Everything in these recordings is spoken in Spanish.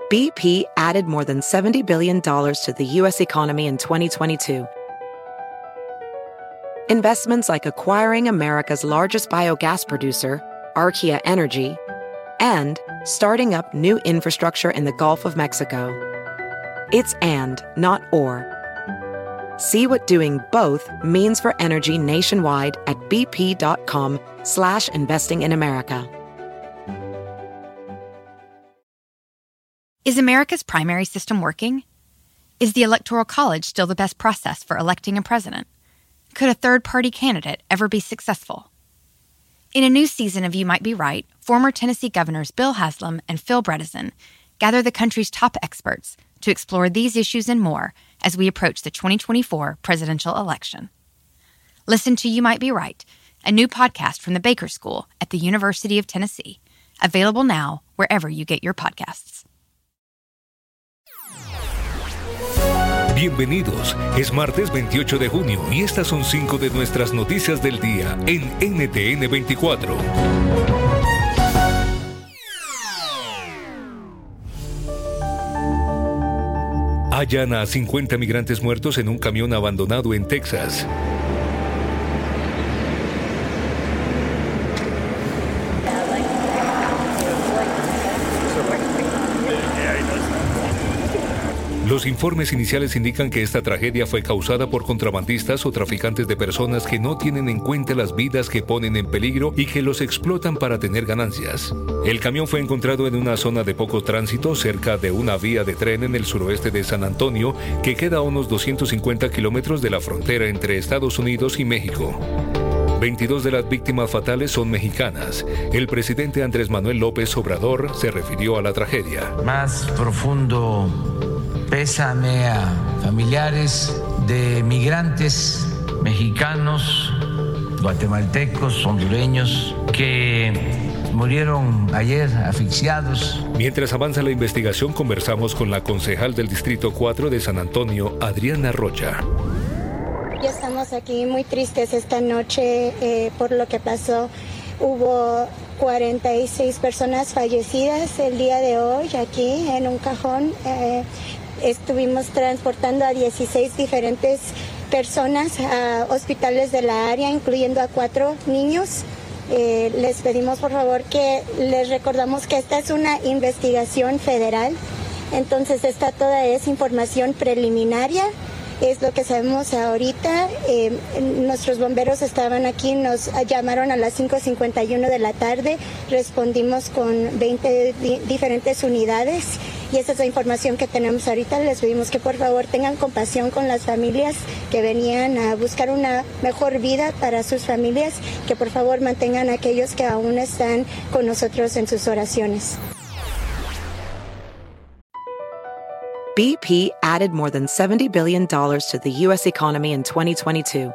BP added more than $70 billion to the U.S. economy in 2022. Investments like acquiring America's largest biogas producer, Archaea Energy, and starting up new infrastructure in the Gulf of Mexico. It's and, not or. See what doing both means for energy nationwide at bp.com/investing in America. Is America's primary system working? Is the Electoral College still the best process for electing a president? Could a third-party candidate ever be successful? In a new season of You Might Be Right, former Tennessee governors Bill Haslam and Phil Bredesen gather the country's top experts to explore these issues and more as we approach the 2024 presidential election. Listen to You Might Be Right, a new podcast from the Baker School at the University of Tennessee, available now wherever you get your podcasts. Bienvenidos, es martes 28 de junio y estas son 5 de nuestras noticias del día en NTN 24. Hallan a 50 migrantes muertos en un camión abandonado en Texas. Los informes iniciales indican que esta tragedia fue causada por contrabandistas o traficantes de personas que no tienen en cuenta las vidas que ponen en peligro y que los explotan para tener ganancias. El camión fue encontrado en una zona de poco tránsito cerca de una vía de tren en el suroeste de San Antonio, que queda a unos 250 kilómetros de la frontera entre Estados Unidos y México. 22 de las víctimas fatales son mexicanas. El presidente Andrés Manuel López Obrador se refirió a la tragedia. Más profundo pésame a familiares de migrantes mexicanos, guatemaltecos, hondureños que murieron ayer asfixiados. Mientras avanza la investigación, conversamos con la concejal del Distrito 4 de San Antonio, Adriana Rocha. Ya estamos aquí muy tristes esta noche por lo que pasó. Hubo 46 personas fallecidas el día de hoy aquí en un cajón. Estuvimos transportando a 16 diferentes personas a hospitales de la área, incluyendo a 4 niños. Les pedimos por favor que les recordamos que esta es una investigación federal, entonces esta toda es información preliminaria. Es lo que sabemos ahorita. Nuestros bomberos estaban aquí, nos llamaron a las 5:51 de la tarde, respondimos con 20 diferentes unidades y esa es la información que tenemos ahorita. Les pedimos que por favor tengan compasión con las familias que venían a buscar una mejor vida para sus familias, que por favor mantengan a aquellos que aún están con nosotros en sus oraciones. BP added more than $70 billion to the U.S. economy in 2022.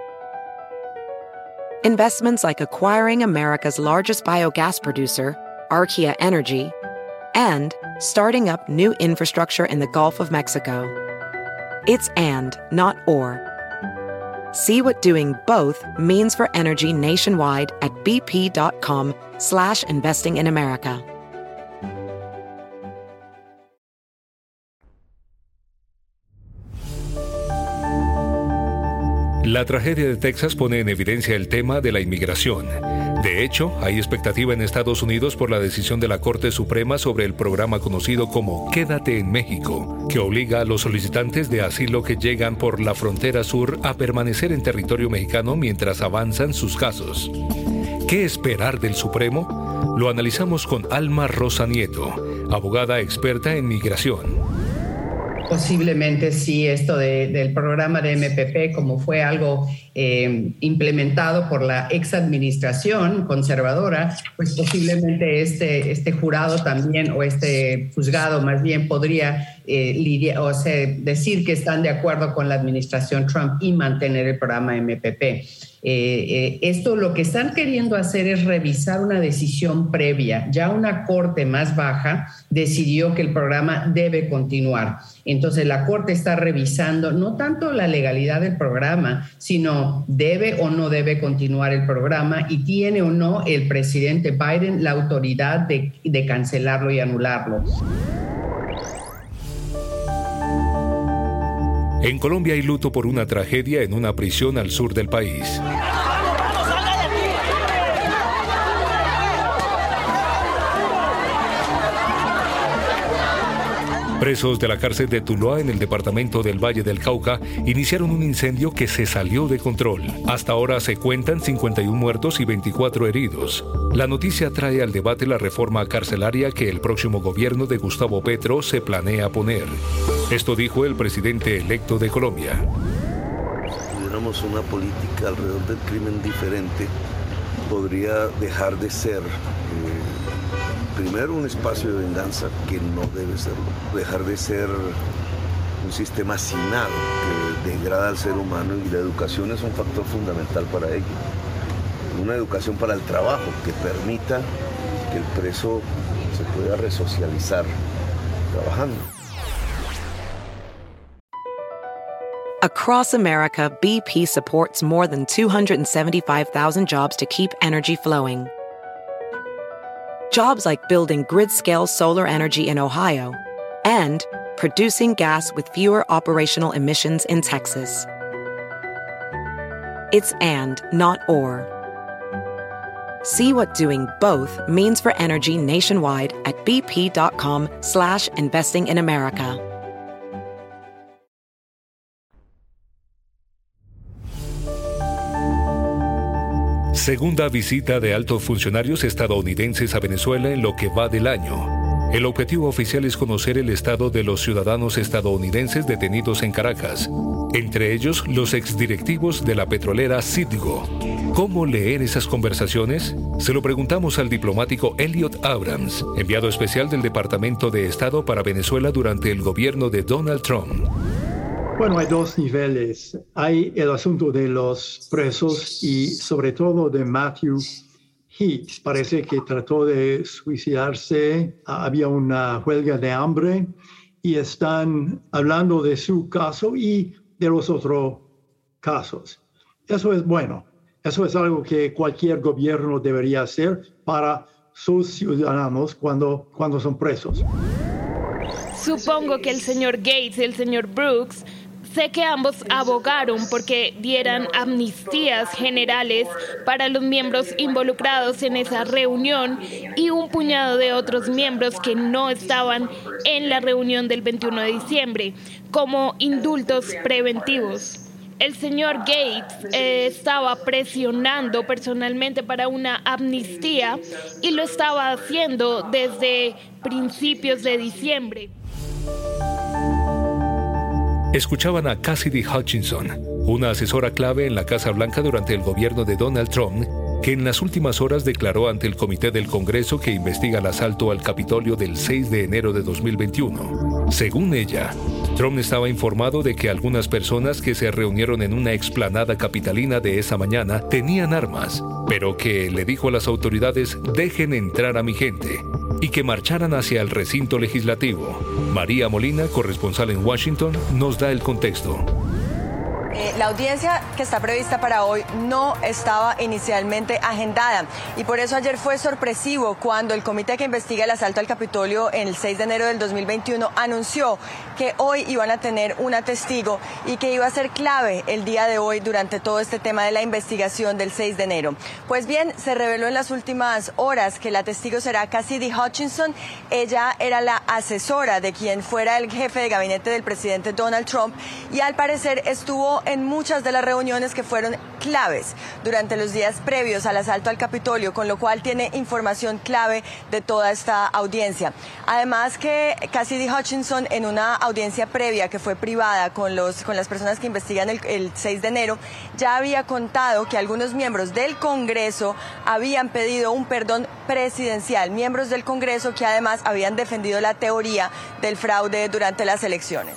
Investments like acquiring America's largest biogas producer, Archaea Energy, and starting up new infrastructure in the Gulf of Mexico. It's and, not or. See what doing both means for energy nationwide at bp.com/investing in America. La tragedia de Texas pone en evidencia el tema de la inmigración. De hecho, hay expectativa en Estados Unidos por la decisión de la Corte Suprema sobre el programa conocido como Quédate en México, que obliga a los solicitantes de asilo que llegan por la frontera sur a permanecer en territorio mexicano mientras avanzan sus casos. ¿Qué esperar del Supremo? Lo analizamos con Alma Rosa Nieto, abogada experta en migración. Posiblemente sí, esto del programa de MPP, como fue algo implementado por la ex administración conservadora, pues posiblemente este jurado también, o este juzgado más bien, podría decir que están de acuerdo con la administración Trump y mantener el programa MPP. Esto lo que están queriendo hacer es revisar una decisión previa. Ya una corte más baja decidió que el programa debe continuar. Entonces la corte está revisando no tanto la legalidad del programa, sino debe o no debe continuar el programa y tiene o no el presidente Biden la autoridad de cancelarlo y anularlo. En Colombia hay luto por una tragedia en una prisión al sur del país. Presos de la cárcel de Tuluá en el departamento del Valle del Cauca iniciaron un incendio que se salió de control. Hasta ahora se cuentan 51 muertos y 24 heridos. La noticia trae al debate la reforma carcelaria que el próximo gobierno de Gustavo Petro se planea poner. Esto dijo el presidente electo de Colombia. Si tuviéramos una política alrededor del crimen diferente, podría dejar de ser primero un espacio de venganza que no debe serlo, dejar de ser un sistema hacinado que degrada al ser humano, y la educación es un factor fundamental para ello. Una educación para el trabajo que permita que el preso se pueda resocializar trabajando. Across America, BP supports more than 275,000 jobs to keep energy flowing. Jobs like building grid-scale solar energy in Ohio and producing gas with fewer operational emissions in Texas. It's and, not or. See what doing both means for energy nationwide at bp.com/investing in America. Segunda visita de altos funcionarios estadounidenses a Venezuela en lo que va del año. El objetivo oficial es conocer el estado de los ciudadanos estadounidenses detenidos en Caracas, entre ellos los exdirectivos de la petrolera Citgo. ¿Cómo leer esas conversaciones? Se lo preguntamos al diplomático Elliot Abrams, enviado especial del Departamento de Estado para Venezuela durante el gobierno de Donald Trump. Bueno, hay dos niveles. Hay el asunto de los presos y sobre todo de Matthew Heath. Parece que trató de suicidarse, había una huelga de hambre y están hablando de su caso y de los otros casos. Eso es bueno. Eso es algo que cualquier gobierno debería hacer para sus ciudadanos cuando son presos. Supongo que el señor Gates y el señor Brooks, sé que ambos abogaron porque dieran amnistías generales para los miembros involucrados en esa reunión y un puñado de otros miembros que no estaban en la reunión del 21 de diciembre, como indultos preventivos. El señor Gates estaba presionando personalmente para una amnistía y lo estaba haciendo desde principios de diciembre. Escuchaban a Cassidy Hutchinson, una asesora clave en la Casa Blanca durante el gobierno de Donald Trump, que en las últimas horas declaró ante el Comité del Congreso que investiga el asalto al Capitolio del 6 de enero de 2021. Según ella, Trump estaba informado de que algunas personas que se reunieron en una explanada capitalina de esa mañana tenían armas, pero que le dijo a las autoridades: dejen entrar a mi gente, y que marcharan hacia el recinto legislativo. María Molina, corresponsal en Washington, nos da el contexto. La audiencia que está prevista para hoy no estaba inicialmente agendada y por eso ayer fue sorpresivo cuando el comité que investiga el asalto al Capitolio en el 6 de enero del 2021 anunció que hoy iban a tener una testigo y que iba a ser clave el día de hoy durante todo este tema de la investigación del 6 de enero. Pues bien, se reveló en las últimas horas que la testigo será Cassidy Hutchinson. Ella era la asesora de quien fuera el jefe de gabinete del presidente Donald Trump y al parecer estuvo en muchas de las reuniones que fueron claves durante los días previos al asalto al Capitolio, con lo cual tiene información clave de toda esta audiencia. Además que Cassidy Hutchinson, en una audiencia previa que fue privada con las personas que investigan el 6 de enero, ya había contado que algunos miembros del Congreso habían pedido un perdón presidencial, miembros del Congreso que además habían defendido la teoría del fraude durante las elecciones.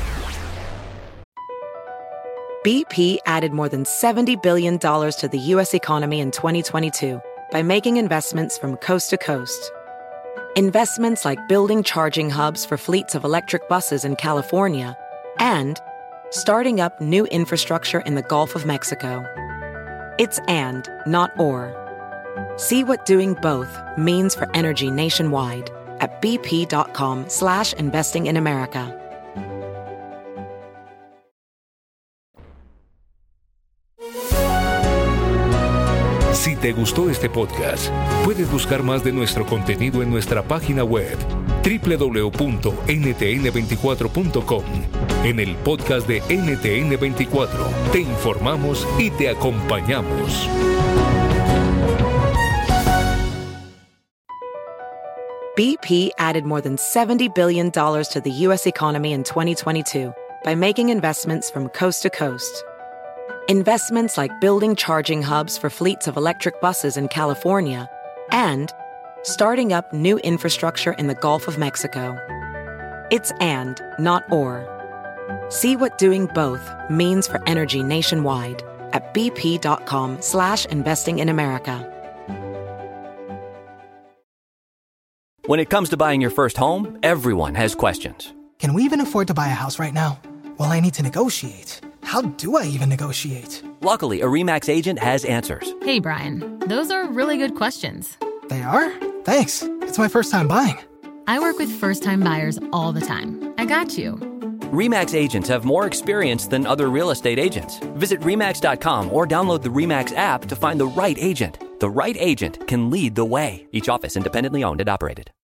BP added more than $70 billion to the U.S. economy in 2022 by making investments from coast to coast. Investments like building charging hubs for fleets of electric buses in California and starting up new infrastructure in the Gulf of Mexico. It's and, not or. See what doing both means for energy nationwide at bp.com/investing in America. te gustó este podcast, puedes buscar más de nuestro contenido en nuestra página web www.ntn24.com. En el podcast de NTN24 te informamos y te acompañamos. BP added more than $70 billion to the U.S. economy in 2022 by making investments from coast to coast. Investments like building charging hubs for fleets of electric buses in California and starting up new infrastructure in the Gulf of Mexico. It's and, not or. See what doing both means for energy nationwide at bp.com/investing in America. When it comes to buying your first home, everyone has questions. Can we even afford to buy a house right now? Well, I need to negotiate. How do I even negotiate? Luckily, a RE/MAX agent has answers. Hey, Brian, those are really good questions. They are? Thanks. It's my first time buying. I work with first-time buyers all the time. I got you. RE/MAX agents have more experience than other real estate agents. Visit RE/MAX.com or download the RE/MAX app to find the right agent. The right agent can lead the way. Each office independently owned and operated.